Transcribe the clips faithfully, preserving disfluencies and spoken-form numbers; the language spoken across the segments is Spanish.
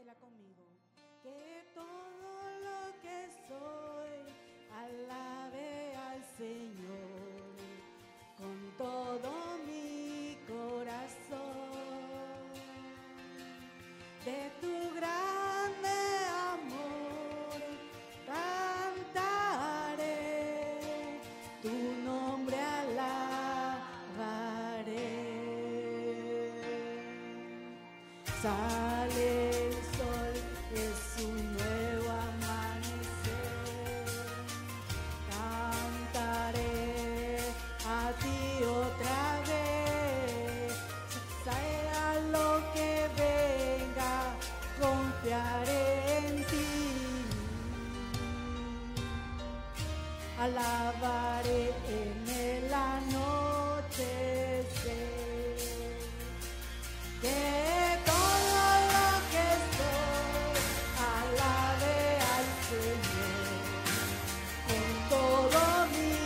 Dila conmigo. Que todo lo que soy alabe al Señor con todo mi corazón. De tu grande amor cantaré, tu nombre alabaré. Sale el sol, es un nuevo amanecer. Cantaré a ti otra vez. Sea lo que venga, confiaré en ti. Alabaré en el anochecer. Que todo lo que soy alabe al Señor con todo mi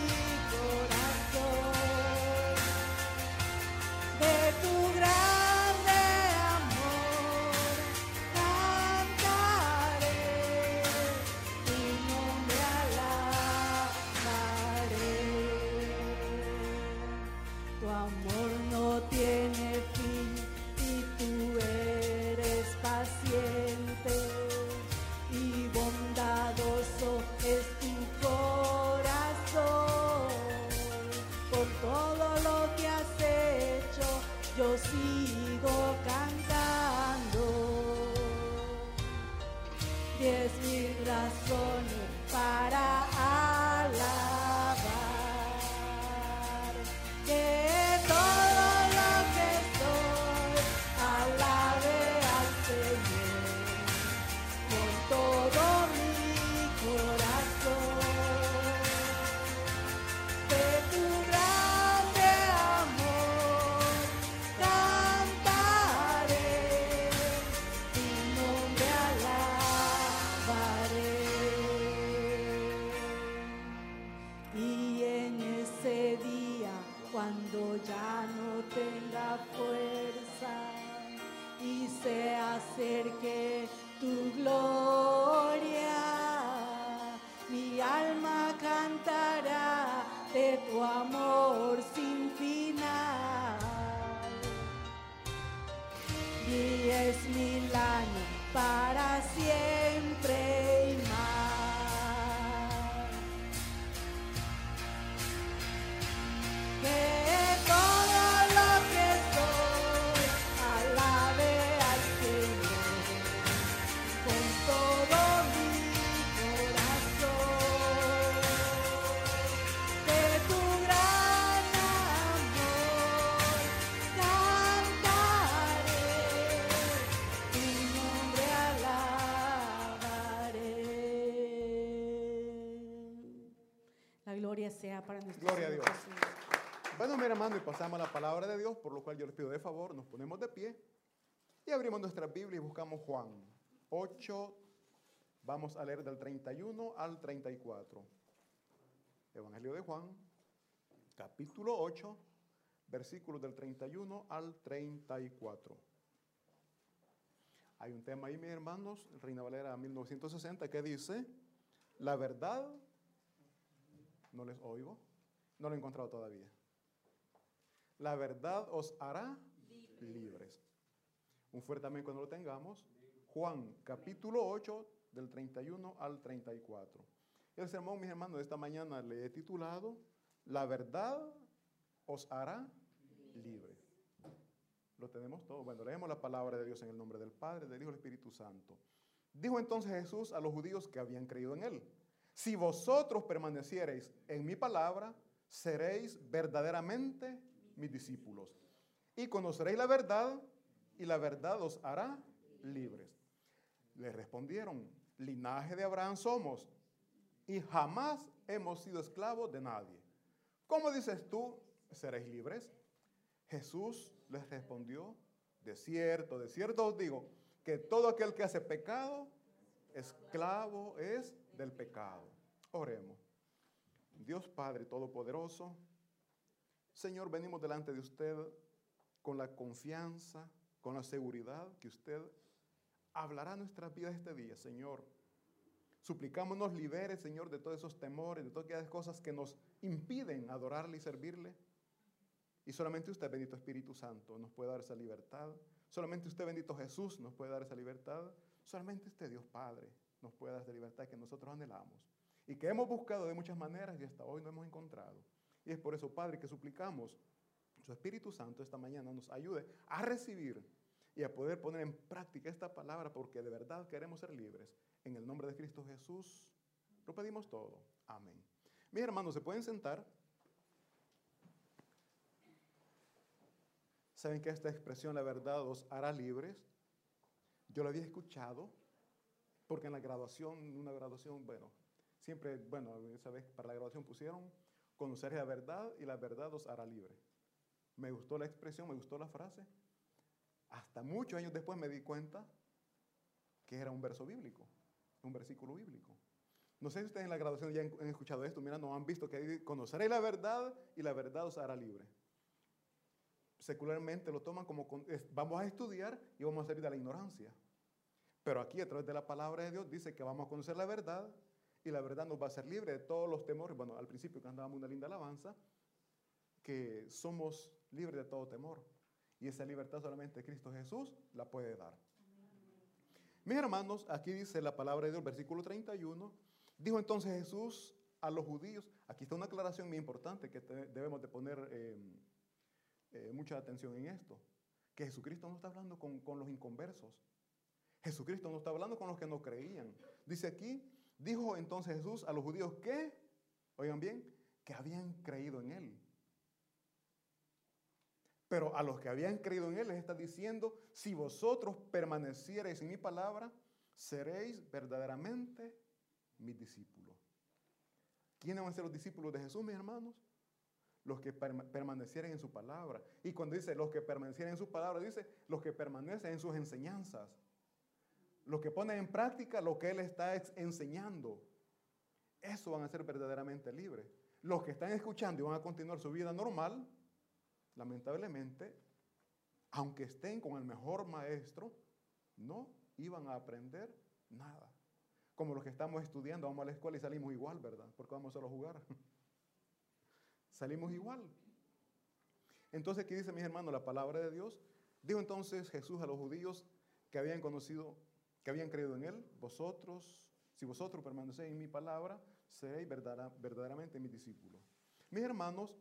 corazón. De tu grande amor cantaré, tu nombre alabaré. Tu amor no tiene fin y tú eres paciente y bondadoso es tu corazón. Por todo lo que has hecho, yo sigo cantando. Diez mil razones para alabar. Que todo lo que soy alabe al Señor con todo mi corazón. De tu grande amor cantaré, tu nombre alabaré. Y en ese día, cuando ya no tenga fuerza y se acerque tu gloria, mi alma cantará de tu amor sin final. Diez mil años para siempre y más. Que todo lo que soy alabe al Señor con todo mi corazón. De tu gran amor cantaré, tu nombre alabaré. La gloria sea para nuestro Gloria a Señor Dios. Jesús. Bueno, mi hermano, y pasamos a la palabra de Dios, por lo cual yo les pido de favor, nos ponemos de pie y abrimos nuestra Biblia y buscamos Juan ocho, vamos a leer del treinta y uno al treinta y cuatro. Evangelio de Juan, capítulo ocho, versículos del treinta y uno al treinta y cuatro. Hay un tema ahí, mis hermanos, Reina Valera mil novecientos sesenta, que dice, la verdad, no les oigo, no lo he encontrado todavía. La verdad os hará libres. libres. Un fuerte amén cuando lo tengamos. Juan, capítulo ocho, del treinta y uno al treinta y cuatro. El sermón, mis hermanos, de esta mañana le he titulado, la verdad os hará libres. Lo tenemos todo. Bueno, leemos la palabra de Dios en el nombre del Padre, del Hijo y del Espíritu Santo. Dijo entonces Jesús a los judíos que habían creído en él, si vosotros permaneciereis en mi palabra, seréis verdaderamente mis discípulos. Y conoceréis la verdad, y la verdad os hará libres. Le respondieron, linaje de Abraham somos, y jamás hemos sido esclavos de nadie. ¿Cómo dices tú, seréis libres? Jesús les respondió, de cierto, de cierto os digo, que todo aquel que hace pecado, esclavo es del pecado. Oremos. Dios Padre Todopoderoso, Señor, venimos delante de usted con la confianza, con la seguridad que usted hablará nuestras vidas este día, Señor. Suplicamos nos libere, Señor, de todos esos temores, de todas aquellas cosas que nos impiden adorarle y servirle. Y solamente usted, bendito Espíritu Santo, nos puede dar esa libertad. Solamente usted, bendito Jesús, nos puede dar esa libertad. Solamente usted, Dios Padre, nos puede dar esa libertad que nosotros anhelamos. Y que hemos buscado de muchas maneras y hasta hoy no hemos encontrado. Y es por eso, Padre, que suplicamos su Espíritu Santo esta mañana nos ayude a recibir y a poder poner en práctica esta palabra, porque de verdad queremos ser libres. En el nombre de Cristo Jesús lo pedimos todo. Amén. Mis hermanos, ¿se pueden sentar? ¿Saben que esta expresión, la verdad, os hará libres? Yo lo había escuchado, porque en la graduación, una graduación, bueno, siempre, bueno, esa vez para la graduación pusieron, conocer la verdad y la verdad os hará libre. Me gustó la expresión, me gustó la frase. Hasta muchos años después me di cuenta que era un verso bíblico, un versículo bíblico. No sé si ustedes en la graduación ya han escuchado esto, mira, no han visto que conoceréis la verdad y la verdad os hará libre. Secularmente lo toman como, vamos a estudiar y vamos a salir de la ignorancia. Pero aquí a través de la palabra de Dios dice que vamos a conocer la verdad y la verdad nos va a hacer libre de todos los temores. Bueno, al principio cantábamos una linda alabanza, que somos libres de todo temor. Y esa libertad solamente Cristo Jesús la puede dar. Mis hermanos, aquí dice la palabra de Dios, versículo treinta y uno, dijo entonces Jesús a los judíos, aquí está una aclaración muy importante que te, debemos de poner eh, eh, mucha atención en esto, que Jesucristo no está hablando con, con los inconversos, Jesucristo no está hablando con los que no creían. Dice aquí, dijo entonces Jesús a los judíos que, oigan bien, que habían creído en Él. Pero a los que habían creído en Él les está diciendo, si vosotros permaneciereis en mi palabra, seréis verdaderamente mis discípulos. ¿Quiénes van a ser los discípulos de Jesús, mis hermanos? Los que permanecieren en su palabra. Y cuando dice los que permanecieren en su palabra, dice los que permanecen en sus enseñanzas. Los que ponen en práctica lo que Él está enseñando. Eso van a ser verdaderamente libres. Los que están escuchando y van a continuar su vida normal, lamentablemente, aunque estén con el mejor maestro, no iban a aprender nada. Como los que estamos estudiando, vamos a la escuela y salimos igual, ¿verdad? Porque vamos solo a jugar. Salimos igual. Entonces, aquí dice, mis hermanos, la palabra de Dios. Dijo entonces Jesús a los judíos que habían conocido, que habían creído en Él, vosotros, si vosotros permanecéis en mi palabra, seréis verdadera, verdaderamente mis discípulos. Mis hermanos,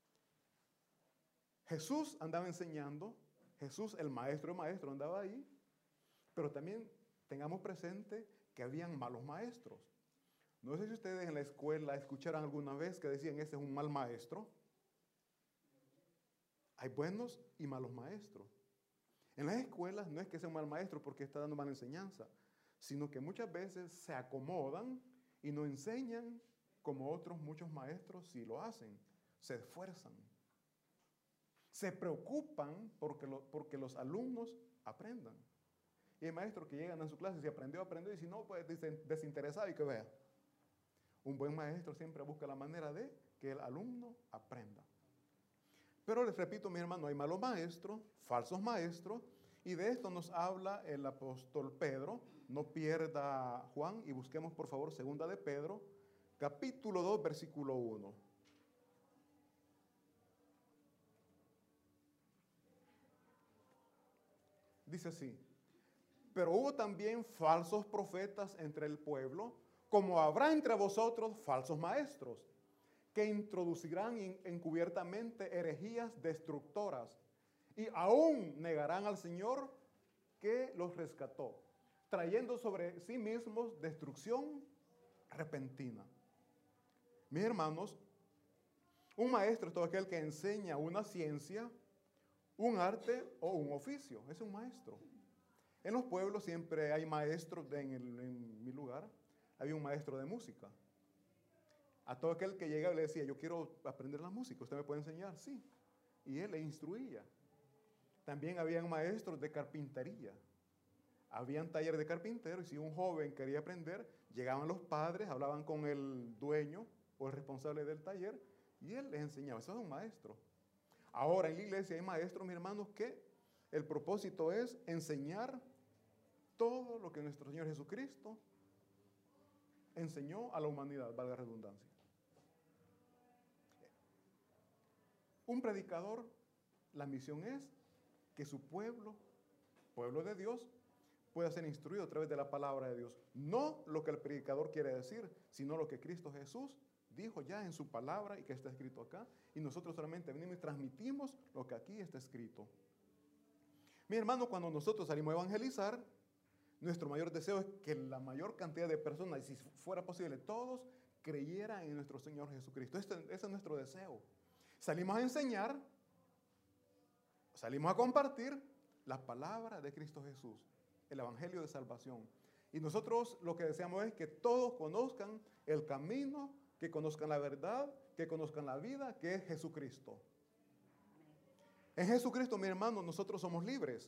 Jesús andaba enseñando, Jesús, el maestro de maestros, andaba ahí, pero también tengamos presente que habían malos maestros. No sé si ustedes en la escuela escucharon alguna vez que decían, ese es un mal maestro. Hay buenos y malos maestros. En las escuelas no es que sea un mal maestro porque está dando mala enseñanza, sino que muchas veces se acomodan y no enseñan como otros muchos maestros sí lo hacen, se esfuerzan. Se preocupan porque, lo, porque los alumnos aprendan. Y hay maestros que llegan a su clase y si aprendió, aprendió, y si no, pues desinteresado y que vea. Un buen maestro siempre busca la manera de que el alumno aprenda. Pero les repito, mi hermano, hay malos maestros, falsos maestros, y de esto nos habla el apóstol Pedro. No pierda Juan y busquemos por favor segunda de Pedro, capítulo dos, versículo uno. Dice así, pero hubo también falsos profetas entre el pueblo, como habrá entre vosotros falsos maestros, que introducirán encubiertamente herejías destructoras, y aún negarán al Señor que los rescató, trayendo sobre sí mismos destrucción repentina. Mis hermanos, un maestro es todo aquel que enseña una ciencia, un arte o un oficio. Es un maestro. En los pueblos siempre hay maestros, de, en, el, en mi lugar, había un maestro de música. A todo aquel que llegaba y le decía, yo quiero aprender la música, ¿usted me puede enseñar? Sí. Y él le instruía. También habían maestros de carpintería. Habían talleres de carpintero y si un joven quería aprender, llegaban los padres, hablaban con el dueño o el responsable del taller y él les enseñaba. Eso es un maestro. Ahora en la iglesia hay maestros, mis hermanos, que el propósito es enseñar todo lo que nuestro Señor Jesucristo enseñó a la humanidad, valga la redundancia. Un predicador, la misión es que su pueblo, pueblo de Dios, pueda ser instruido a través de la palabra de Dios. No lo que el predicador quiere decir, sino lo que Cristo Jesús dijo ya en su palabra y que está escrito acá. Y nosotros solamente venimos y transmitimos lo que aquí está escrito. Mi hermano, cuando nosotros salimos a evangelizar, nuestro mayor deseo es que la mayor cantidad de personas, y si fuera posible todos, creyeran en nuestro Señor Jesucristo. Este, ese es nuestro deseo. Salimos a enseñar, salimos a compartir la palabra de Cristo Jesús, el evangelio de salvación. Y nosotros lo que deseamos es que todos conozcan el camino, que conozcan la verdad, que conozcan la vida, que es Jesucristo. En Jesucristo, mi hermano, nosotros somos libres.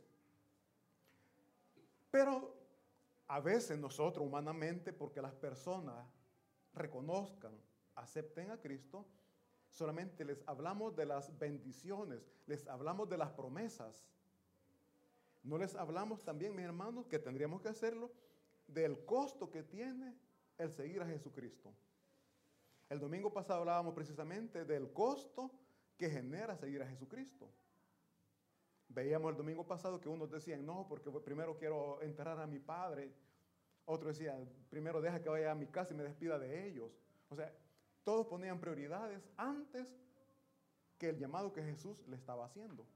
Pero a veces nosotros humanamente, porque las personas reconozcan, acepten a Cristo, solamente les hablamos de las bendiciones, les hablamos de las promesas. No les hablamos también, mis hermanos, que tendríamos que hacerlo, del costo que tiene el seguir a Jesucristo. El domingo pasado hablábamos precisamente del costo que genera seguir a Jesucristo. Veíamos el domingo pasado que unos decían, no, porque primero quiero enterrar a mi padre. Otros decían, primero deja que vaya a mi casa y me despida de ellos. O sea, todos ponían prioridades antes que el llamado que Jesús le estaba haciendo.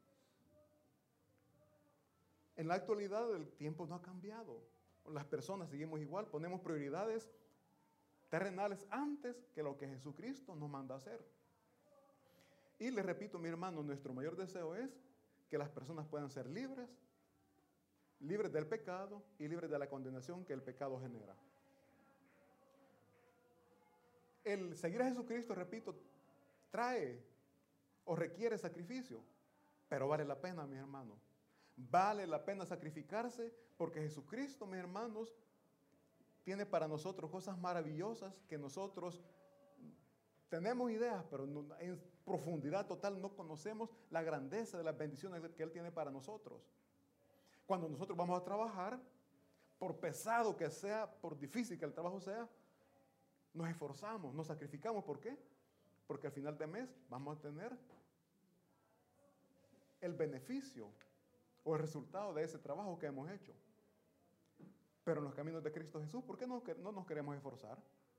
En la actualidad el tiempo no ha cambiado. Las personas seguimos igual, ponemos prioridades terrenales antes que lo que Jesucristo nos manda a hacer. Y les repito, mi hermano, nuestro mayor deseo es que las personas puedan ser libres, libres del pecado y libres de la condenación que el pecado genera. El seguir a Jesucristo, repito, trae o requiere sacrificio, pero vale la pena, mis hermanos. Vale la pena sacrificarse porque Jesucristo, mis hermanos, tiene para nosotros cosas maravillosas que nosotros tenemos ideas, pero no, en profundidad total no conocemos la grandeza de las bendiciones que Él tiene para nosotros. Cuando nosotros vamos a trabajar, por pesado que sea, por difícil que el trabajo sea, nos esforzamos, nos sacrificamos. ¿Por qué? Porque al final de mes vamos a tener el beneficio o el resultado de ese trabajo que hemos hecho. Pero en los caminos de Cristo Jesús, ¿por qué no, no nos queremos esforzar?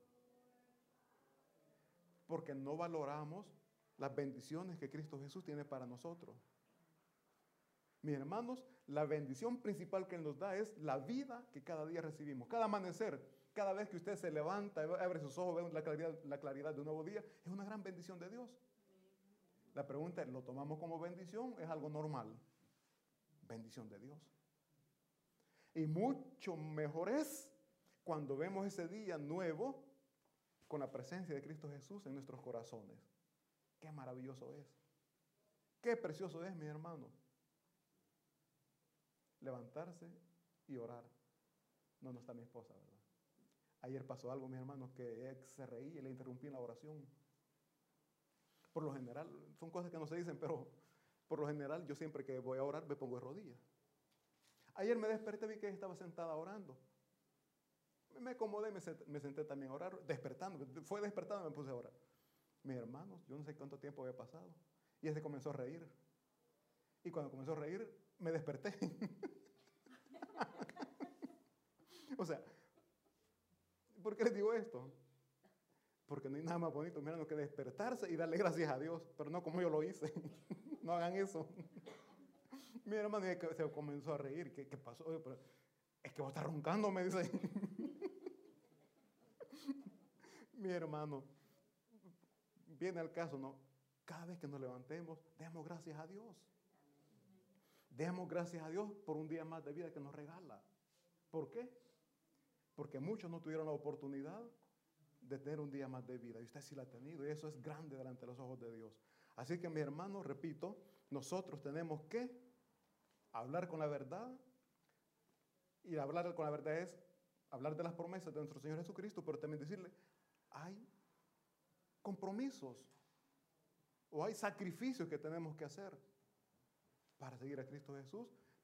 Porque no valoramos las bendiciones que Cristo Jesús tiene para nosotros. Mis hermanos, la bendición principal que Él nos da es la vida que cada día recibimos. Cada amanecer, cada vez que usted se levanta, abre sus ojos, ve la claridad, la claridad de un nuevo día, es una gran bendición de Dios. La pregunta es, ¿lo tomamos como bendición? ¿Es algo normal? Bendición de Dios. Y mucho mejor es cuando vemos ese día nuevo con la presencia de Cristo Jesús en nuestros corazones. Qué maravilloso es. Qué precioso es, mis hermanos. Levantarse y orar. No, no está mi esposa, ¿verdad? Ayer pasó algo, mis hermanos, que se reía y le interrumpí en la oración. Por lo general, son cosas que no se dicen, pero por lo general yo siempre que voy a orar me pongo de rodillas. Ayer me desperté, vi que ella estaba sentada orando. Me acomodé, me senté, me senté también a orar, despertando. Fue despertando y me puse a orar. Mis hermanos, yo no sé cuánto tiempo había pasado. Y ella se comenzó a reír. Y cuando comenzó a reír, me desperté. O sea, ¿por qué les digo esto? Porque no hay nada más bonito, mirando que despertarse y darle gracias a Dios, pero no como yo lo hice. No hagan eso. Mi hermano se comenzó a reír. ¿Qué, qué pasó? Oye, pero es que vos estás roncando, me dice. Mi hermano, viene al caso, ¿no? Cada vez que nos levantemos, demos gracias a Dios. Demos gracias a Dios por un día más de vida que nos regala. ¿Por qué? Porque muchos no tuvieron la oportunidad de tener un día más de vida. Y usted sí la ha tenido. Y eso es grande delante de los ojos de Dios. Así que, mi hermano, repito, nosotros tenemos que hablar con la verdad. Y hablar con la verdad es hablar de las promesas de nuestro Señor Jesucristo, pero también decirle, hay compromisos o hay sacrificios que tenemos que hacer para seguir a Cristo Jesús,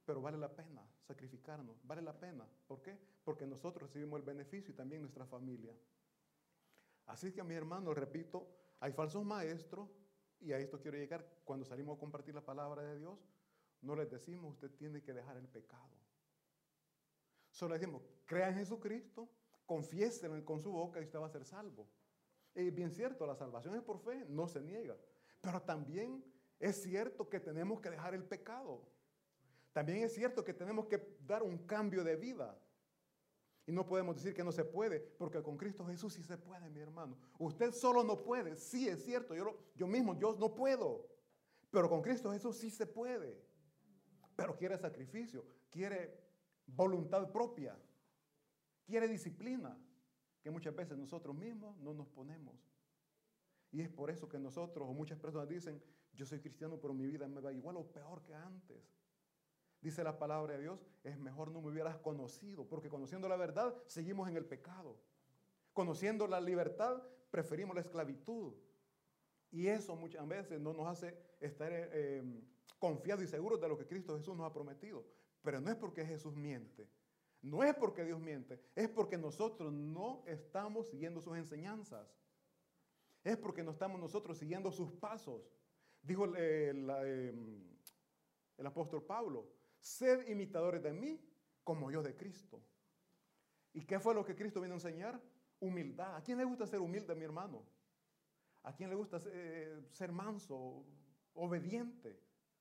pero vale la pena sacrificarnos, vale la pena. ¿Por qué? Porque nosotros recibimos el beneficio y también nuestra familia. Así que, mis hermanos, repito, hay falsos maestros, y a esto quiero llegar. Cuando salimos a compartir la palabra de Dios, no les decimos, usted tiene que dejar el pecado. Solo les decimos, crea en Jesucristo, confiéselo con su boca y usted va a ser salvo. Es bien cierto, la salvación es por fe, no se niega. Pero también es cierto que tenemos que dejar el pecado. También es cierto que tenemos que dar un cambio de vida. Y no podemos decir que no se puede, porque con Cristo Jesús sí se puede, mi hermano. Usted solo no puede, sí es cierto, yo, lo, yo mismo, yo no puedo. Pero con Cristo Jesús sí se puede. Pero quiere sacrificio, quiere voluntad propia, quiere disciplina, que muchas veces nosotros mismos no nos ponemos. Y es por eso que nosotros, o muchas personas dicen, yo soy cristiano, pero mi vida me va igual o peor que antes. Dice la palabra de Dios, es mejor no me hubieras conocido, porque conociendo la verdad, seguimos en el pecado. Conociendo la libertad, preferimos la esclavitud. Y eso muchas veces no nos hace estar eh, confiados y seguros de lo que Cristo Jesús nos ha prometido. Pero no es porque Jesús miente, no es porque Dios miente, es porque nosotros no estamos siguiendo sus enseñanzas. Es porque no estamos nosotros siguiendo sus pasos. Dijo eh, la, eh, el apóstol Pablo, sed imitadores de mí como yo de Cristo. ¿Y qué fue lo que Cristo vino a enseñar? Humildad. ¿A quién le gusta ser humilde, mi hermano? ¿A quién le gusta eh, ser manso, obediente?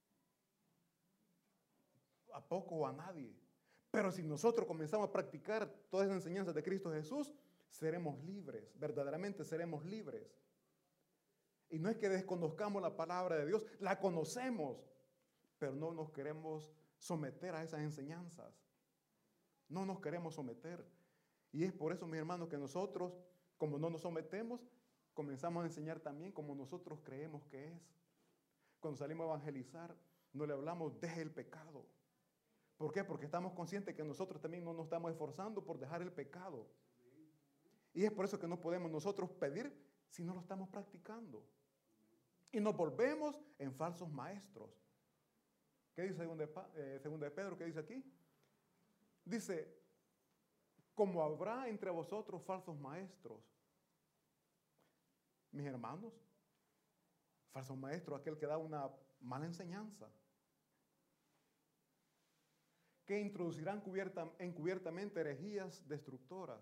A poco o a nadie. Pero si nosotros comenzamos a practicar todas las enseñanzas de Cristo Jesús, seremos libres, verdaderamente seremos libres. Y no es que desconozcamos la palabra de Dios, la conocemos, pero no nos queremos someter a esas enseñanzas. No nos queremos someter. Y es por eso, mis hermanos, que nosotros, como no nos sometemos, comenzamos a enseñar también como nosotros creemos que es. Cuando salimos a evangelizar, no le hablamos, deje el pecado. ¿Por qué? Porque estamos conscientes que nosotros también no nos estamos esforzando por dejar el pecado. Y es por eso que no podemos nosotros pedir si no lo estamos practicando. Y nos volvemos en falsos maestros. ¿Qué dice segunda de, eh, segunda de Pedro? ¿Qué dice aquí? Dice, como habrá entre vosotros falsos maestros. Mis hermanos, falso maestro, aquel que da una mala enseñanza, que introducirán cubierta, encubiertamente herejías destructoras.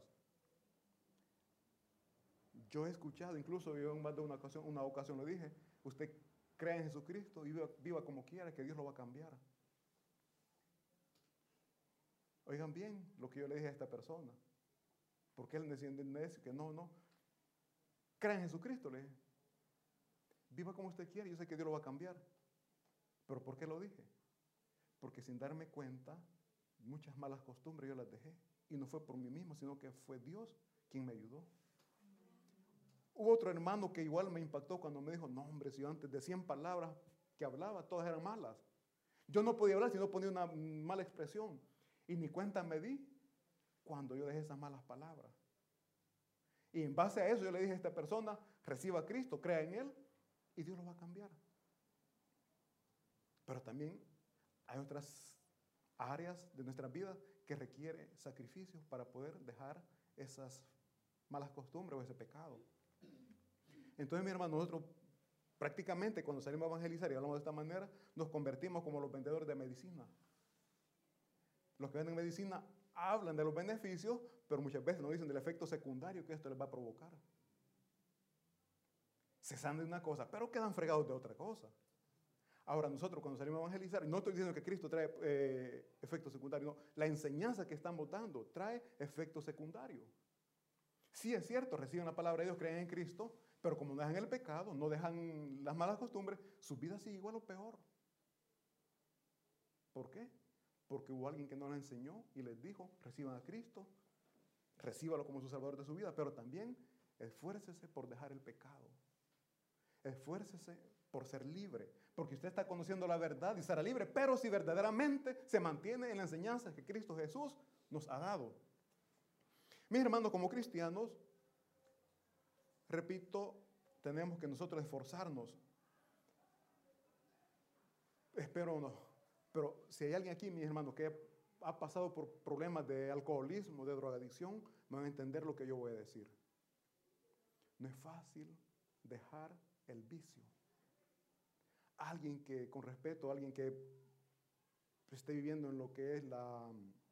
Yo he escuchado, incluso yo en más de una ocasión, una ocasión lo dije, usted cree en Jesucristo y viva, viva como quiera, que Dios lo va a cambiar. Oigan bien lo que yo le dije a esta persona. Porque él decía que no, no. Crea en Jesucristo, le dije. Viva como usted quiere, yo sé que Dios lo va a cambiar. ¿Pero por qué lo dije? Porque sin darme cuenta, muchas malas costumbres yo las dejé. Y no fue por mí mismo, sino que fue Dios quien me ayudó. Hubo otro hermano que igual me impactó cuando me dijo, no hombre, si yo antes de cien palabras que hablaba, todas eran malas. Yo no podía hablar si no ponía una mala expresión. Y ni cuenta me di cuando yo dejé esas malas palabras. Y en base a eso yo le dije a esta persona, reciba a Cristo, crea en Él, y Dios lo va a cambiar. Pero también hay otras áreas de nuestra vida que requieren sacrificios para poder dejar esas malas costumbres o ese pecado. Entonces, mi hermano, nosotros prácticamente cuando salimos a evangelizar y hablamos de esta manera, nos convertimos como los vendedores de medicina. Los que venden medicina hablan de los beneficios, pero muchas veces nos dicen del efecto secundario que esto les va a provocar. Se sanan de una cosa, pero quedan fregados de otra cosa. Ahora, nosotros cuando salimos a evangelizar, y no estoy diciendo que Cristo trae eh, efectos secundarios, no, la enseñanza que estamos dando trae efectos secundarios. Sí es cierto, reciben la palabra de Dios, creen en Cristo, pero como no dejan el pecado, no dejan las malas costumbres, su vida sigue igual o peor. ¿Por qué? Porque hubo alguien que no les enseñó y les dijo, reciban a Cristo, recíbalo como su salvador de su vida, pero también esfuércese por dejar el pecado. Esfuércese por ser libre, porque usted está conociendo la verdad y será libre, pero si verdaderamente se mantiene en la enseñanza que Cristo Jesús nos ha dado. Mis hermanos, como cristianos, repito, tenemos que nosotros esforzarnos. Espero no, Pero si hay alguien aquí, mis hermanos, que ha pasado por problemas de alcoholismo, de drogadicción, me van a entender lo que yo voy a decir. No es fácil dejar el vicio. Alguien que, con respeto, alguien que esté viviendo en lo que es la,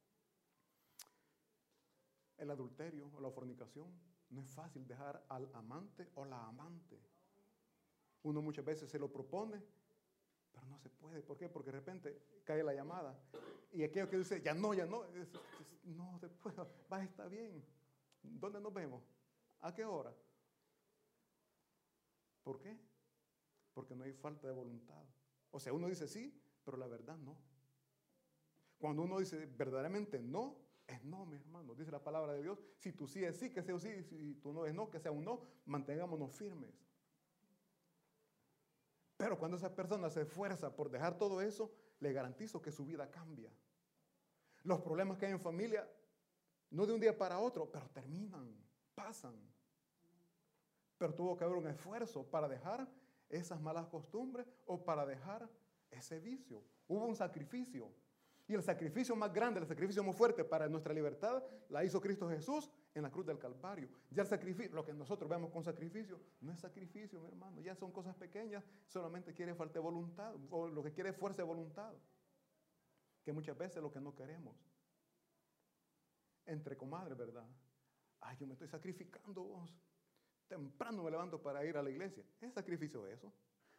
el adulterio o la fornicación, no es fácil dejar al amante o la amante. Uno muchas veces se lo propone, pero no se puede. ¿Por qué? Porque de repente cae la llamada. Y aquello que dice, ya no, ya no, es, es, no, después va a estar bien. ¿Dónde nos vemos? ¿A qué hora? ¿Por qué? Porque no hay falta de voluntad. O sea, uno dice sí, pero la verdad no. Cuando uno dice verdaderamente no, es no, mi hermano. Dice la palabra de Dios, si tú sí es sí, que sea un sí, si tú no es no, que sea un no, mantengámonos firmes. Pero cuando esa persona se esfuerza por dejar todo eso, le garantizo que su vida cambia. Los problemas que hay en familia, no de un día para otro, pero terminan, pasan. Pero tuvo que haber un esfuerzo para dejar esas malas costumbres o para dejar ese vicio. Hubo un sacrificio. Y el sacrificio más grande, el sacrificio más fuerte para nuestra libertad, la hizo Cristo Jesús en la cruz del Calvario. Ya el sacrificio, lo que nosotros vemos con sacrificio, no es sacrificio, mi hermano. Ya son cosas pequeñas, solamente quiere falta de voluntad, o lo que quiere es fuerza de voluntad. Que muchas veces es lo que no queremos. Entre comadres, ¿verdad? Ay, yo me estoy sacrificando, vos. Temprano me levanto para ir a la iglesia. ¿Es sacrificio eso?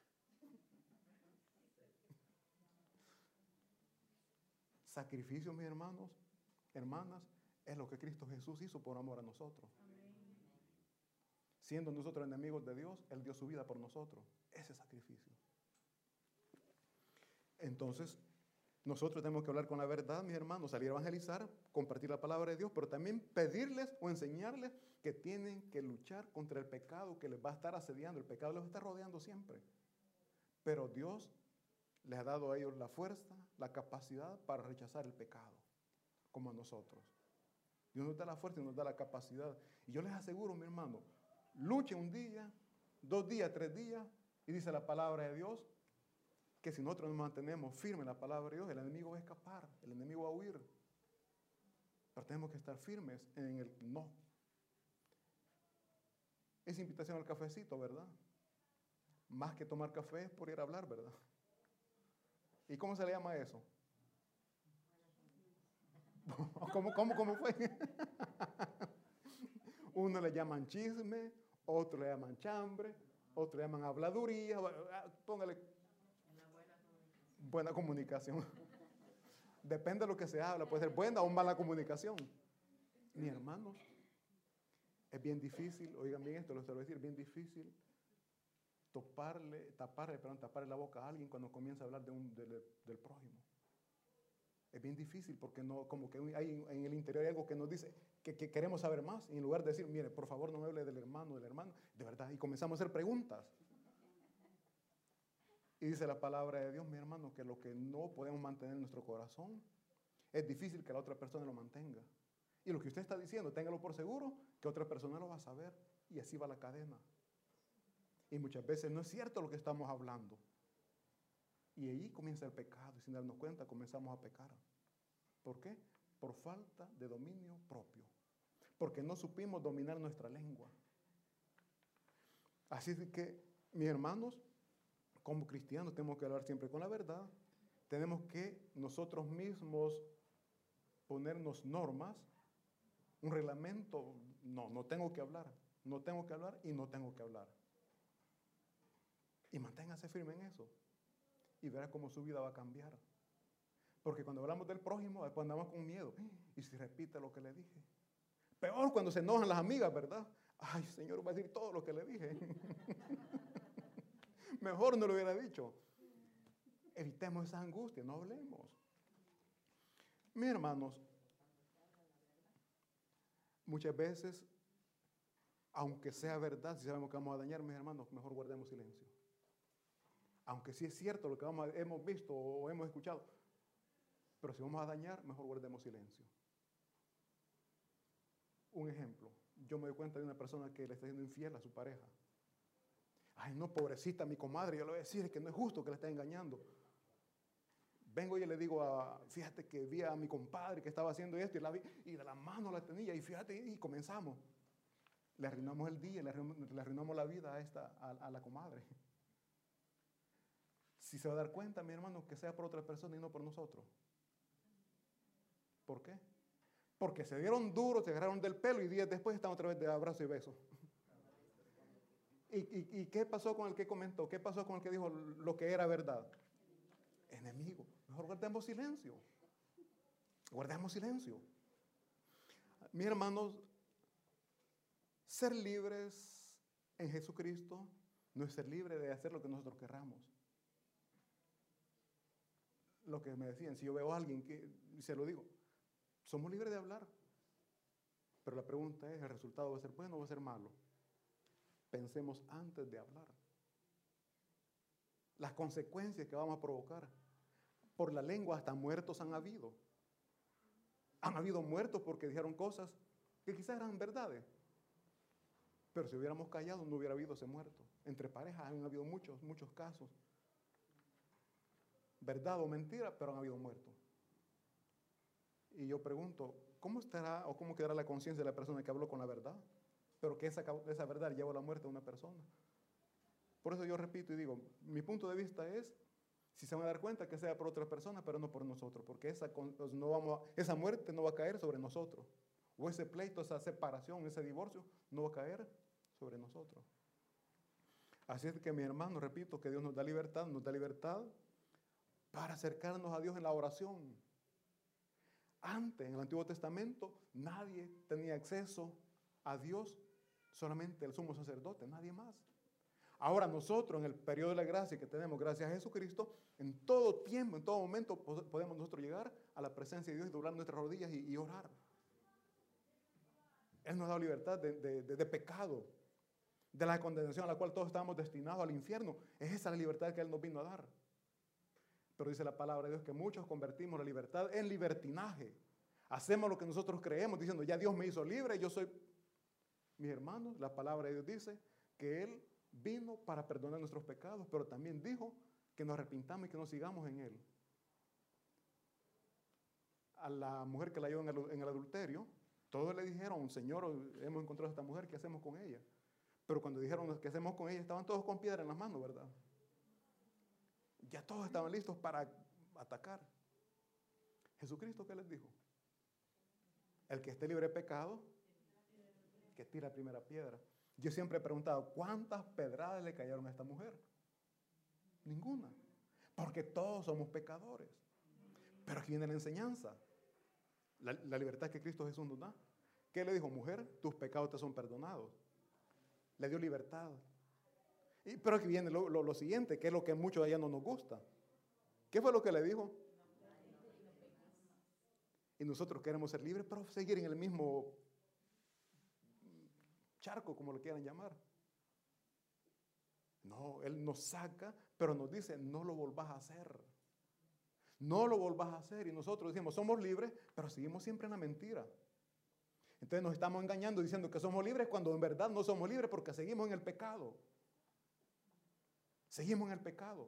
Sacrificio, mis hermanos, hermanas, es lo que Cristo Jesús hizo por amor a nosotros. Amén. Siendo nosotros enemigos de Dios, Él dio su vida por nosotros. Ese sacrificio. Entonces, nosotros tenemos que hablar con la verdad, mis hermanos, salir a evangelizar, compartir la palabra de Dios, pero también pedirles o enseñarles que tienen que luchar contra el pecado que les va a estar asediando. El pecado les está rodeando siempre. Pero Dios les ha dado a ellos la fuerza, la capacidad para rechazar el pecado, como a nosotros. Dios nos da la fuerza y nos da la capacidad. Y yo les aseguro, mi hermano, luchen un día, dos días, tres días, y dice la palabra de Dios, que si nosotros nos mantenemos firmes en la palabra de Dios, el enemigo va a escapar, el enemigo va a huir. Pero tenemos que estar firmes en el no. Es invitación al cafecito, ¿verdad? Más que tomar café es por ir a hablar, ¿verdad? ¿Y cómo se le llama eso? ¿Cómo, cómo, cómo fue? Uno le llaman chisme, otro le llaman chambre, otro le llaman habladuría. Póngale buena comunicación. Depende de lo que se habla, puede ser buena o mala comunicación. Mis hermanos, es bien difícil, oigan bien esto, lo voy a decir, bien difícil Toparle, taparle, perdón, taparle la boca a alguien cuando comienza a hablar de un, de, de, del prójimo. Es bien difícil porque no, como que hay en el interior hay algo que nos dice que, que queremos saber más. Y en lugar de decir, mire, por favor no me hable del hermano, del hermano, de verdad, y comenzamos a hacer preguntas. Y dice la palabra de Dios, mi hermano, que lo que no podemos mantener en nuestro corazón, es difícil que la otra persona lo mantenga. Y lo que usted está diciendo, téngalo por seguro, que otra persona lo va a saber. Y así va la cadena. Y muchas veces no es cierto lo que estamos hablando. Y ahí comienza el pecado. Y sin darnos cuenta comenzamos a pecar. ¿Por qué? Por falta de dominio propio. Porque no supimos dominar nuestra lengua. Así que, mis hermanos, como cristianos tenemos que hablar siempre con la verdad. Tenemos que nosotros mismos ponernos normas, un reglamento. No, no tengo que hablar. No tengo que hablar y no tengo que hablar. Y manténgase firme en eso. Y verá cómo su vida va a cambiar. Porque cuando hablamos del prójimo, después andamos con miedo. Y si repite lo que le dije. Peor cuando se enojan las amigas, ¿verdad? Ay, Señor, va a decir todo lo que le dije. Mejor no lo hubiera dicho. Evitemos esa angustia, no hablemos. Mis hermanos, muchas veces, aunque sea verdad, si sabemos que vamos a dañar, mis hermanos, mejor guardemos silencio. Aunque sí es cierto lo que vamos a, hemos visto o hemos escuchado, pero si vamos a dañar, mejor guardemos silencio. Un ejemplo, yo me doy cuenta de una persona que le está siendo infiel a su pareja. Ay, no, pobrecita mi comadre, yo le voy a decir que no es justo que le esté engañando. Vengo y le digo, a, fíjate que vi a mi compadre que estaba haciendo esto y, la vi, y de la mano la tenía y fíjate, y comenzamos. Le arruinamos el día, le arruinamos, le arruinamos la vida a, esta, a, a la comadre. Si se va a dar cuenta, mi hermano, que sea por otra persona y no por nosotros. ¿Por qué? Porque se dieron duros, se agarraron del pelo y días después están otra vez de abrazo y beso. ¿Y, y, ¿Y qué pasó con el que comentó? ¿Qué pasó con el que dijo lo que era verdad? Enemigo. Mejor guardemos silencio. Guardemos silencio. Mis hermanos, ser libres en Jesucristo no es ser libre de hacer lo que nosotros querramos. Lo que me decían, si yo veo a alguien que se lo digo, somos libres de hablar. Pero la pregunta es, ¿el resultado va a ser bueno o va a ser malo? Pensemos antes de hablar. Las consecuencias que vamos a provocar. Por la lengua hasta muertos han habido. Han habido muertos porque dijeron cosas que quizás eran verdades. Pero si hubiéramos callado no hubiera habido ese muerto. Entre parejas han habido muchos, muchos casos. Verdad o mentira, pero han habido muertos. Y yo pregunto, ¿cómo estará o cómo quedará la conciencia de la persona que habló con la verdad? Pero que esa, esa verdad llevó a la muerte de una persona. Por eso yo repito y digo, mi punto de vista es, si se van a dar cuenta, que sea por otra persona, pero no por nosotros, porque esa, no vamos a, esa muerte no va a caer sobre nosotros. O ese pleito, esa separación, ese divorcio, no va a caer sobre nosotros. Así es que, mi hermano, repito, que Dios nos da libertad, nos da libertad para acercarnos a Dios en la oración. Antes, en el Antiguo Testamento, nadie tenía acceso a Dios, solamente el sumo sacerdote, nadie más. Ahora nosotros, en el periodo de la gracia que tenemos gracias a Jesucristo, en todo tiempo, en todo momento, podemos nosotros llegar a la presencia de Dios y doblar nuestras rodillas y, y orar. Él nos ha dado libertad de, de, de, de pecado, de la condenación a la cual todos estábamos destinados al infierno. Es esa la libertad que Él nos vino a dar. Pero dice la palabra de Dios que muchos convertimos la libertad en libertinaje. Hacemos lo que nosotros creemos, diciendo, ya Dios me hizo libre, yo soy... Mis hermanos, la palabra de Dios dice que Él vino para perdonar nuestros pecados, pero también dijo que nos arrepintamos y que nos sigamos en Él. A la mujer que la halló en el, en el adulterio, todos le dijeron, Señor, hemos encontrado a esta mujer, ¿qué hacemos con ella? Pero cuando dijeron, ¿qué hacemos con ella? Estaban todos con piedra en las manos, ¿verdad? Ya todos estaban listos para atacar. ¿Jesucristo qué les dijo? El que esté libre de pecado, que tire la primera piedra. Yo siempre he preguntado, ¿cuántas pedradas le cayeron a esta mujer? Ninguna. Porque todos somos pecadores. Pero aquí viene la enseñanza. La, la libertad que Cristo Jesús nos da. ¿Qué le dijo? Mujer, tus pecados te son perdonados. Le dio libertad. Y, pero aquí viene lo, lo, lo siguiente, que es lo que a muchos de allá no nos gusta. ¿Qué fue lo que le dijo? Y nosotros queremos ser libres, pero seguir en el mismo charco, como lo quieran llamar. No, Él nos saca, pero nos dice, no lo volvás a hacer. No lo volvás a hacer. Y nosotros decimos, somos libres, pero seguimos siempre en la mentira. Entonces nos estamos engañando diciendo que somos libres cuando en verdad no somos libres porque seguimos en el pecado. Seguimos en el pecado.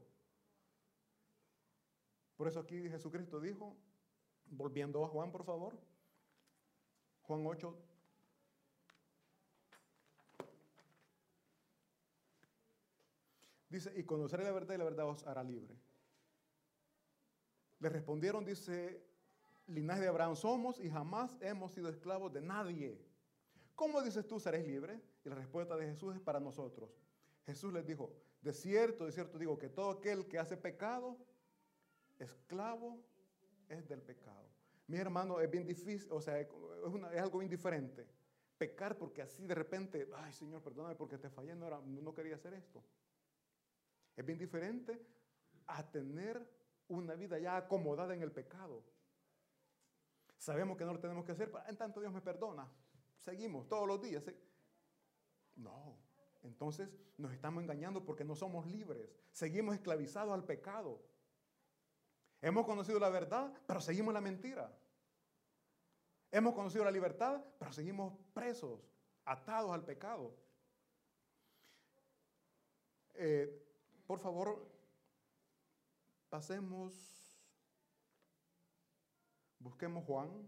Por eso aquí Jesucristo dijo, volviendo a Juan, por favor, Juan ocho, dice, y conoceré la verdad y la verdad os hará libre. Le respondieron, dice, linaje de Abraham somos y jamás hemos sido esclavos de nadie. ¿Cómo dices tú seréis libres? Y la respuesta de Jesús es para nosotros. Jesús les dijo, de cierto, de cierto digo que todo aquel que hace pecado, esclavo es del pecado. Mi hermano, es bien difícil, o sea, es, una, es algo bien diferente. Pecar porque así de repente, ay Señor, perdóname porque te fallé, no, era, no quería hacer esto. Es bien diferente a tener una vida ya acomodada en el pecado. Sabemos que no lo tenemos que hacer, pero en tanto Dios me perdona. Seguimos todos los días. No, entonces nos estamos engañando porque no somos libres. Seguimos esclavizados al pecado. Hemos conocido la verdad, pero seguimos la mentira. Hemos conocido la libertad, pero seguimos presos, atados al pecado. Eh, por favor, pasemos Busquemos Juan.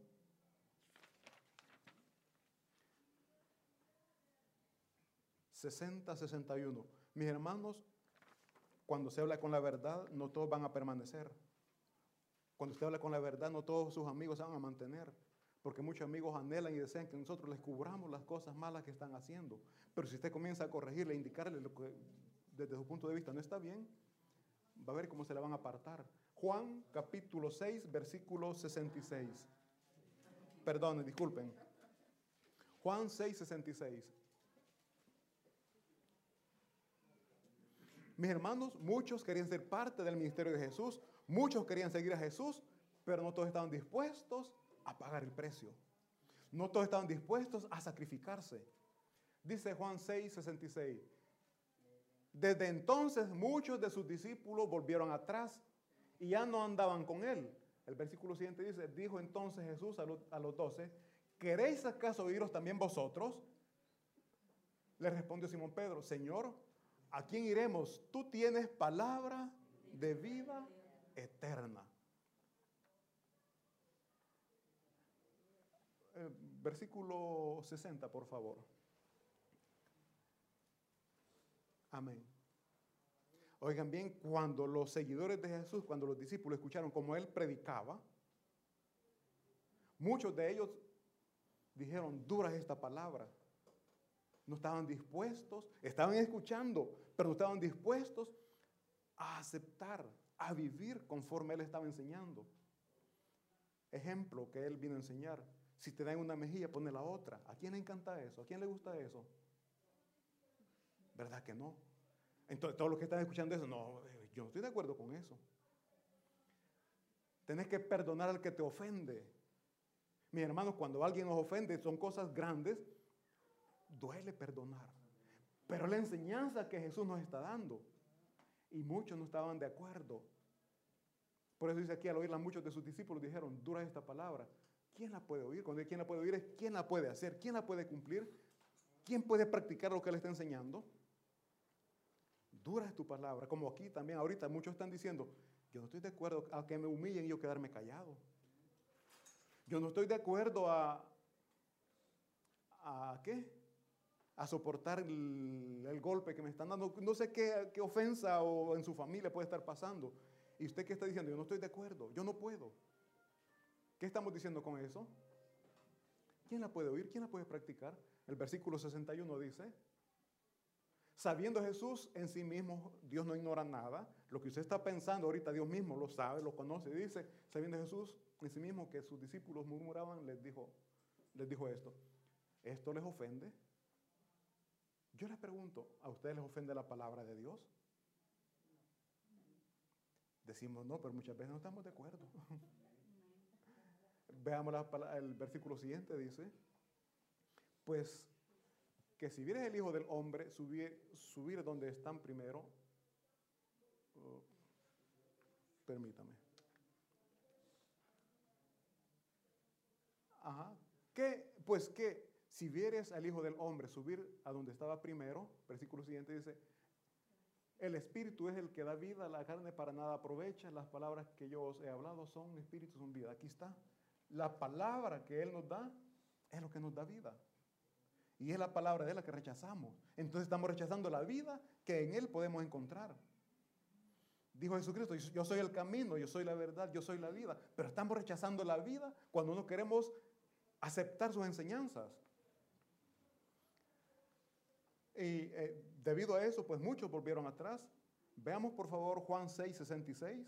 sesenta, sesenta y uno. Mis hermanos, cuando se habla con la verdad, no todos van a permanecer. Cuando usted habla con la verdad, no todos sus amigos se van a mantener. Porque muchos amigos anhelan y desean que nosotros les cubramos las cosas malas que están haciendo. Pero si usted comienza a corregirle, a indicarle lo que desde su punto de vista no está bien, va a ver cómo se la van a apartar. Juan capítulo seis, versículo sesenta y seis. Perdón, disculpen. Juan seis, sesenta y seis. Mis hermanos, muchos querían ser parte del ministerio de Jesús, muchos querían seguir a Jesús, pero no todos estaban dispuestos a pagar el precio. No todos estaban dispuestos a sacrificarse. Dice Juan seis, sesenta y seis. Desde entonces muchos de sus discípulos volvieron atrás y ya no andaban con él. El versículo siguiente dice, dijo entonces Jesús a los, a los doce, ¿queréis acaso iros también vosotros? Le respondió Simón Pedro, Señor, ¿a quién iremos? Tú tienes palabra de vida eterna. Eh, versículo sesenta, por favor. Amén. Oigan bien, cuando los seguidores de Jesús, cuando los discípulos escucharon cómo él predicaba, muchos de ellos dijeron, dura es esta palabra. No estaban dispuestos, estaban escuchando, pero no estaban dispuestos a aceptar, a vivir conforme él estaba enseñando. Ejemplo que él vino a enseñar. Si te dan una mejilla, ponle la otra. ¿A quién le encanta eso? ¿A quién le gusta eso? ¿Verdad que no? Entonces, todos los que están escuchando eso, no, yo no estoy de acuerdo con eso. Tenés que perdonar al que te ofende. Mis hermanos, cuando alguien nos ofende, son cosas grandes, duele perdonar. Pero la enseñanza que Jesús nos está dando, y muchos no estaban de acuerdo. Por eso dice aquí, al oírla, muchos de sus discípulos dijeron, dura esta palabra. ¿Quién la puede oír? Cuando dice quién la puede oír es quién la puede hacer, quién la puede cumplir, quién puede practicar lo que él está enseñando. Dura es tu palabra, como aquí también ahorita muchos están diciendo, yo no estoy de acuerdo a que me humillen y yo quedarme callado. Yo no estoy de acuerdo a, ¿a qué? A soportar el, el golpe que me están dando. No sé qué, qué ofensa o en su familia puede estar pasando. Y usted qué está diciendo, yo no estoy de acuerdo, yo no puedo. ¿Qué estamos diciendo con eso? ¿Quién la puede oír? ¿Quién la puede practicar? El versículo sesenta y uno dice, sabiendo Jesús en sí mismo, Dios no ignora nada. Lo que usted está pensando ahorita, Dios mismo lo sabe, lo conoce. Dice, sabiendo Jesús en sí mismo que sus discípulos murmuraban, les dijo, les dijo esto. ¿Esto les ofende? Yo les pregunto, ¿a ustedes les ofende la palabra de Dios? Decimos no, pero muchas veces no estamos de acuerdo. Veamos la, el versículo siguiente, dice, pues que si vieres el Hijo del Hombre subir, subir donde están primero, uh, permítame. Ajá. ¿Qué? Pues que si vieres al Hijo del Hombre subir a donde estaba primero, versículo siguiente dice, el Espíritu es el que da vida, la carne para nada aprovecha, las palabras que yo os he hablado son Espíritu, son vida. Aquí está. La palabra que Él nos da es lo que nos da vida. Y es la palabra de Él la que rechazamos. Entonces estamos rechazando la vida que en Él podemos encontrar. Dijo Jesucristo, yo soy el camino, yo soy la verdad, yo soy la vida. Pero estamos rechazando la vida cuando no queremos aceptar sus enseñanzas. Y eh, debido a eso, pues muchos volvieron atrás. Veamos por favor Juan seis, sesenta y seis.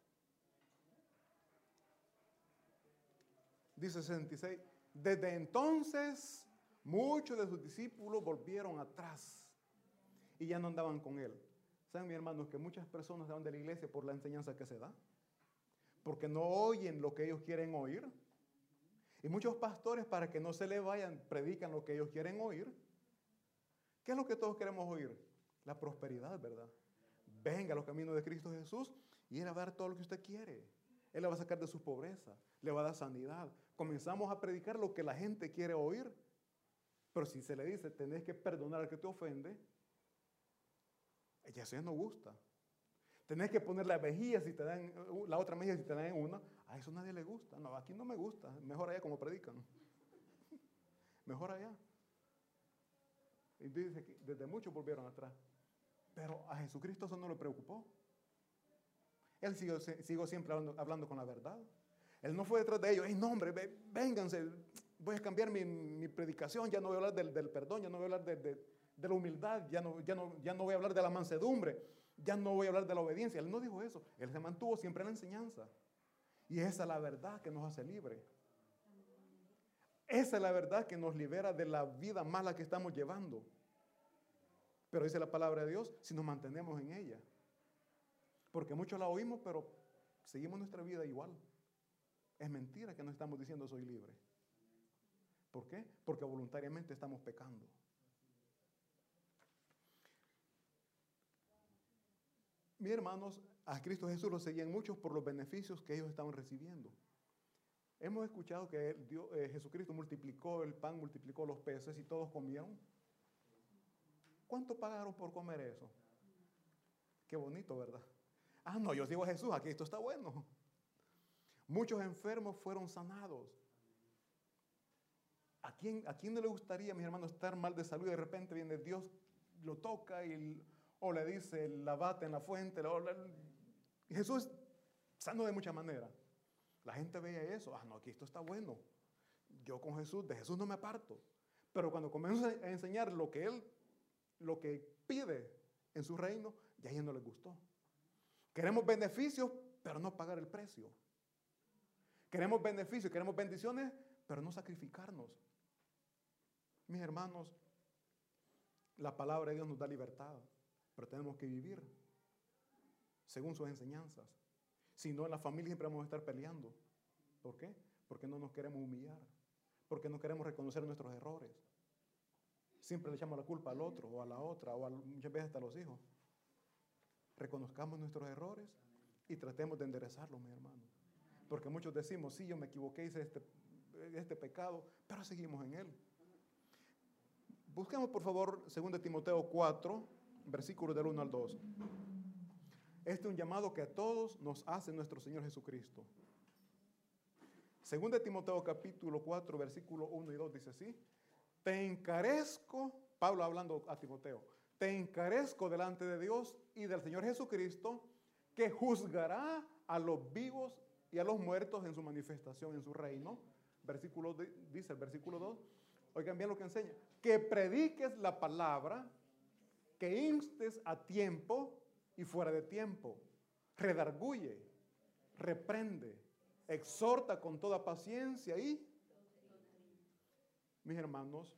Dice sesenta y seis, desde entonces muchos de sus discípulos volvieron atrás y ya no andaban con él. ¿Saben, mis hermanos, que muchas personas se van de la iglesia por la enseñanza que se da? Porque no oyen lo que ellos quieren oír. Y muchos pastores, para que no se les vayan, predican lo que ellos quieren oír. ¿Qué es lo que todos queremos oír? La prosperidad, ¿verdad? Venga a los caminos de Cristo Jesús y Él va a dar todo lo que usted quiere. Él le va a sacar de su pobreza, le va a dar sanidad. Comenzamos a predicar lo que la gente quiere oír. Pero si se le dice, tenés que perdonar al que te ofende, ya eso ya no gusta. Tenés que poner la mejilla si te dan, la otra mejilla si te dan una, A eso nadie le gusta. No, aquí no me gusta. Mejor allá como predican. Mejor allá. Y dice que desde muchos volvieron atrás. Pero a Jesucristo eso no le preocupó. Él siguió, siguió siempre hablando, hablando con la verdad. Él no fue detrás de ellos. ¡Ey, no, hombre, vénganse! Voy a cambiar mi, mi predicación. Ya no voy a hablar del, del perdón. Ya no voy a hablar de, de, de la humildad. Ya no, ya, no, ya no voy a hablar de la mansedumbre. Ya no voy a hablar de la obediencia. Él no dijo eso. Él se mantuvo siempre en la enseñanza. Y esa es la verdad que nos hace libres. Esa es la verdad que nos libera de la vida mala que estamos llevando. Pero dice la palabra de Dios, si nos mantenemos en ella. Porque muchos la oímos, pero seguimos nuestra vida igual. Es mentira que no estamos diciendo soy libre. ¿Por qué? Porque voluntariamente estamos pecando. Mis hermanos, a Cristo Jesús lo seguían muchos por los beneficios que ellos estaban recibiendo. Hemos escuchado que Dios, eh, Jesucristo multiplicó el pan, multiplicó los peces y todos comieron. ¿Cuánto pagaron por comer eso? Qué bonito, ¿verdad? Ah, no, yo sigo a Jesús, aquí esto está bueno. Muchos enfermos fueron sanados. ¿A quién, ¿A quién no le gustaría, mis hermanos, estar mal de salud y de repente viene Dios, lo toca y, o le dice, la bate en la fuente? O la, Jesús sano de muchas maneras. La gente veía eso. Ah, no, aquí esto está bueno. Yo con Jesús, de Jesús no me aparto. Pero cuando comienzo a enseñar lo que Él, lo que pide en su reino, ya a ellos no les gustó. Queremos beneficios, pero no pagar el precio. Queremos beneficios, queremos bendiciones, pero no sacrificarnos. Mis hermanos, la palabra de Dios nos da libertad, pero tenemos que vivir según sus enseñanzas. Si no, en la familia siempre vamos a estar peleando. ¿Por qué? Porque no nos queremos humillar. Porque no queremos reconocer nuestros errores. Siempre le echamos la culpa al otro o a la otra o a, muchas veces hasta a los hijos. Reconozcamos nuestros errores y tratemos de enderezarlos, mi hermano. Porque muchos decimos, sí, yo me equivoqué, hice este, este pecado, pero seguimos en él. Busquemos, por favor, segundo de Timoteo cuatro, versículos del uno al dos. Este es un llamado que a todos nos hace nuestro Señor Jesucristo. Segundo de Timoteo capítulo cuatro, versículo uno y dos dice así: te encarezco, Pablo hablando a Timoteo, te encarezco delante de Dios y del Señor Jesucristo, que juzgará a los vivos y a los muertos en su manifestación en su reino. Versículo, dice el versículo dos, oigan bien lo que enseña, que prediques la palabra, que instes a tiempo y fuera de tiempo, redarguye, reprende, exhorta con toda paciencia y, mis hermanos,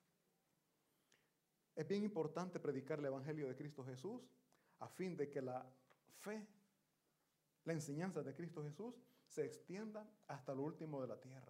es bien importante predicar el Evangelio de Cristo Jesús a fin de que la fe, la enseñanza de Cristo Jesús se extienda hasta lo último de la tierra.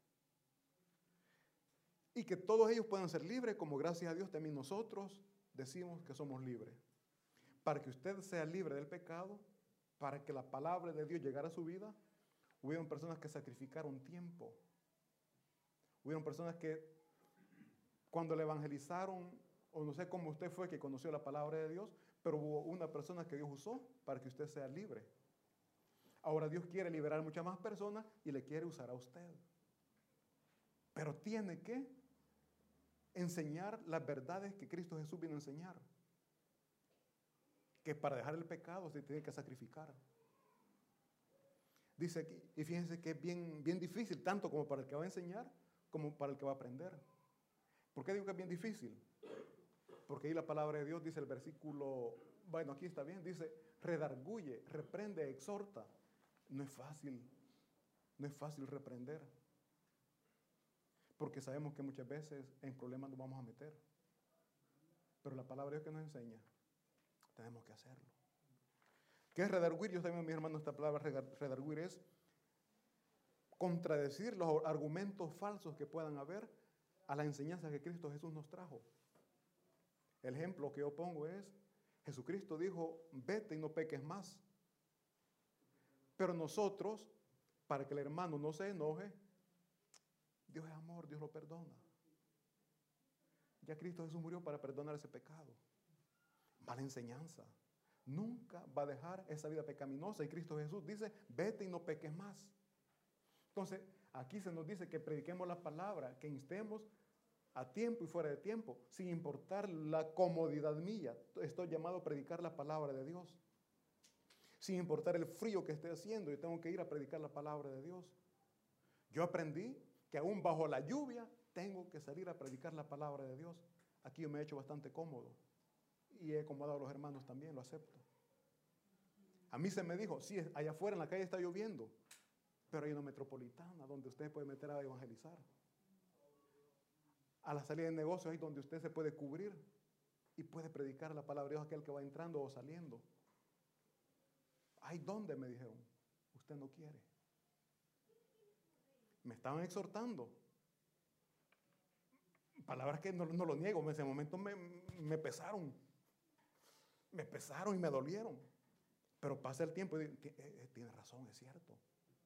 Y que todos ellos puedan ser libres, como gracias a Dios también nosotros decimos que somos libres. Para que usted sea libre del pecado, para que la palabra de Dios llegara a su vida, hubieron personas que sacrificaron tiempo. Hubieron personas que cuando le evangelizaron, o no sé cómo usted fue que conoció la palabra de Dios, pero hubo una persona que Dios usó para que usted sea libre. Ahora Dios quiere liberar a muchas más personas y le quiere usar a usted. Pero tiene que enseñar las verdades que Cristo Jesús vino a enseñar. Que para dejar el pecado se tiene que sacrificar. Dice aquí, y fíjense que es bien, bien difícil, tanto como para el que va a enseñar, como para el que va a aprender. ¿Por qué digo que es bien difícil? Porque ahí la palabra de Dios dice el versículo, bueno, aquí está bien, dice, redarguye, reprende, exhorta. No es fácil, no es fácil reprender. Porque sabemos que muchas veces en problemas nos vamos a meter. Pero la palabra de Dios que nos enseña, tenemos que hacerlo. ¿Qué es redarguir? Yo también, mis hermanos, esta palabra redarguir es contradecir los argumentos falsos que puedan haber a la enseñanza que Cristo Jesús nos trajo. El ejemplo que yo pongo es, Jesucristo dijo, vete y no peques más. Pero nosotros, para que el hermano no se enoje, Dios es amor, Dios lo perdona. Ya Cristo Jesús murió para perdonar ese pecado. Mala enseñanza. Nunca va a dejar esa vida pecaminosa. Y Cristo Jesús dice, vete y no peques más. Entonces, aquí se nos dice que prediquemos la palabra, que instemos a tiempo y fuera de tiempo, sin importar la comodidad mía. Estoy llamado a predicar la palabra de Dios. Sin importar el frío que esté haciendo, yo tengo que ir a predicar la palabra de Dios. Yo aprendí que aún bajo la lluvia tengo que salir a predicar la palabra de Dios. Aquí yo me he hecho bastante cómodo y he acomodado a los hermanos también, lo acepto. A mí se me dijo, sí, allá afuera en la calle está lloviendo, pero hay una metropolitana donde usted puede meter a evangelizar. A la salida de negocios es donde usted se puede cubrir y puede predicar la palabra de Dios a aquel que va entrando o saliendo. Hay donde me dijeron, usted no quiere. Me estaban exhortando. Palabras que no, no lo niego, en ese momento me, me pesaron. Me pesaron y me dolieron. Pero pasa el tiempo y digo, tiene razón, es cierto.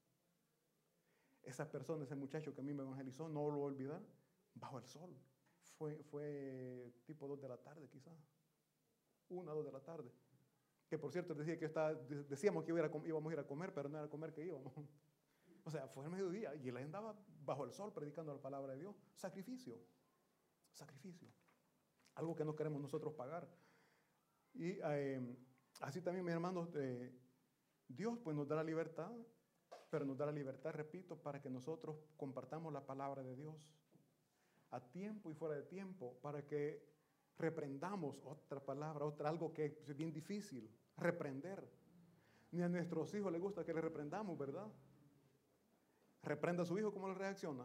Esa persona, ese muchacho que a mí me evangelizó, no lo voy a olvidar, bajo el sol. Fue, fue tipo dos de la tarde quizás. Una, dos de la tarde. Que por cierto decía que estaba, decíamos que iba a ir a, íbamos a ir a comer, pero no era a comer que íbamos. O sea, fue el mediodía y él andaba bajo el sol predicando la palabra de Dios. Sacrificio. Sacrificio. Algo que no queremos nosotros pagar. Y eh, así también, mis hermanos, eh, Dios pues nos da la libertad, pero nos da la libertad, repito, para que nosotros compartamos la palabra de Dios a tiempo y fuera de tiempo, para que reprendamos, otra palabra, otra, algo que es bien difícil, reprender. Ni a nuestros hijos les gusta que les reprendamos, ¿verdad? Reprenda a su hijo, ¿cómo le reacciona?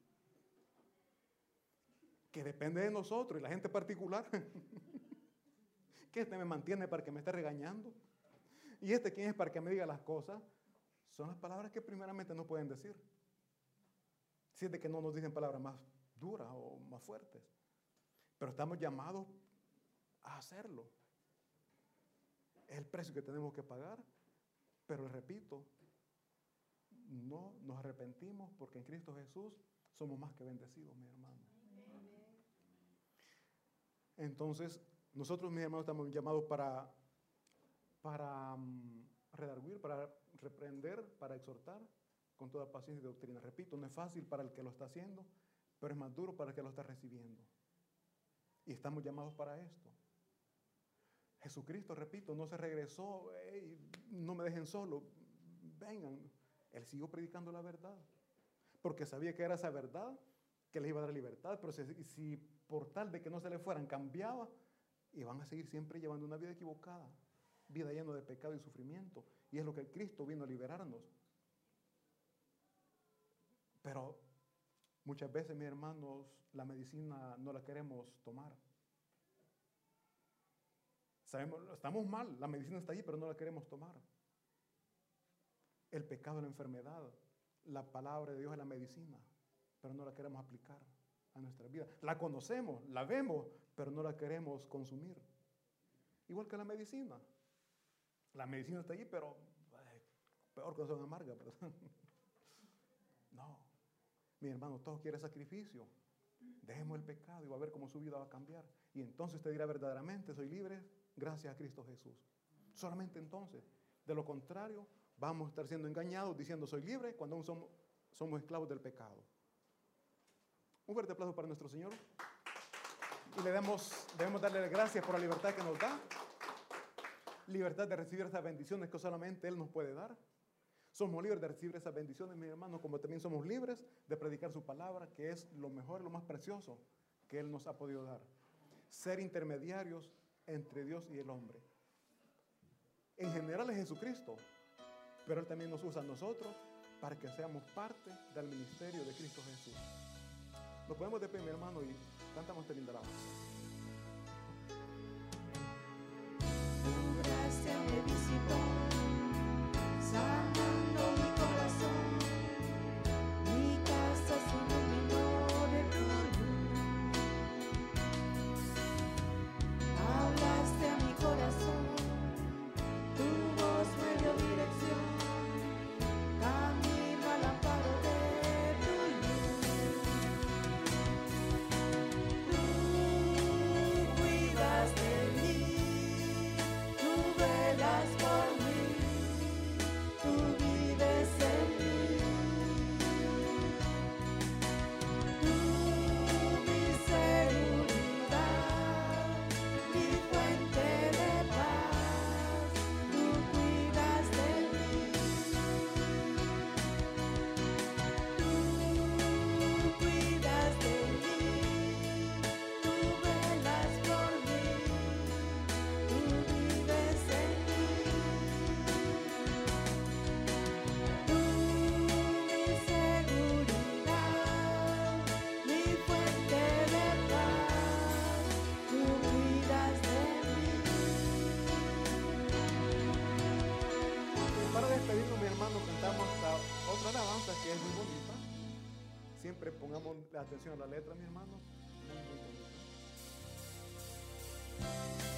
Que depende de nosotros y la gente particular. Que este me mantiene para que me esté regañando. Y este, ¿quién es para que me diga las cosas? Son las palabras que primeramente no pueden decir. Si es de que no nos dicen palabras más duras o más fuertes. Pero estamos llamados a hacerlo. Es el precio que tenemos que pagar. Pero repito, no nos arrepentimos porque en Cristo Jesús somos más que bendecidos, mi hermano. Entonces, nosotros, mis hermanos, estamos llamados para, para um, redarguir, para reprender, para exhortar con toda paciencia y doctrina. Repito, no es fácil para el que lo está haciendo, pero es más duro para el que lo está recibiendo. Y estamos llamados para esto. Jesucristo, repito, no se regresó, hey, no me dejen solo, vengan. Él siguió predicando la verdad, porque sabía que era esa verdad que les iba a dar libertad, pero si, si por tal de que no se le fueran cambiaba, iban a seguir siempre llevando una vida equivocada, vida llena de pecado y sufrimiento, y es lo que Cristo vino a liberarnos. Pero muchas veces, mis hermanos, la medicina no la queremos tomar. Sabemos, estamos mal, la medicina está ahí, pero no la queremos tomar. El pecado es la enfermedad, la palabra de Dios es la medicina, pero no la queremos aplicar a nuestra vida. La conocemos, la vemos, pero no la queremos consumir. Igual que la medicina. La medicina está allí, pero ay, peor que son amargas, ¿verdad? No. Mi hermano, todos quieren sacrificio. Dejemos el pecado y va a ver cómo su vida va a cambiar. Y entonces usted dirá verdaderamente, soy libre gracias a Cristo Jesús. Solamente entonces. De lo contrario, vamos a estar siendo engañados diciendo soy libre cuando aún somos, somos esclavos del pecado. Un fuerte aplauso para nuestro Señor. Y le damos, debemos darle gracias por la libertad que nos da. Libertad de recibir esas bendiciones que solamente Él nos puede dar. Somos libres de recibir esas bendiciones, mis hermanos, como también somos libres de predicar su palabra, que es lo mejor, lo más precioso que Él nos ha podido dar. Ser intermediarios entre Dios y el hombre. En general es Jesucristo, pero Él también nos usa a nosotros para que seamos parte del ministerio de Cristo Jesús. Nos podemos de pie, mi hermano, y cantamos este lindo alabanza. Tu gracia me visitó, sanando mi corazón, mi casa se iluminó de tu luz. Hablaste a mi corazón, tu voz me dio dirección, camino al amparo de tu luz. Siempre pongamos la atención a la letra, mi hermano. Muy, muy bonito.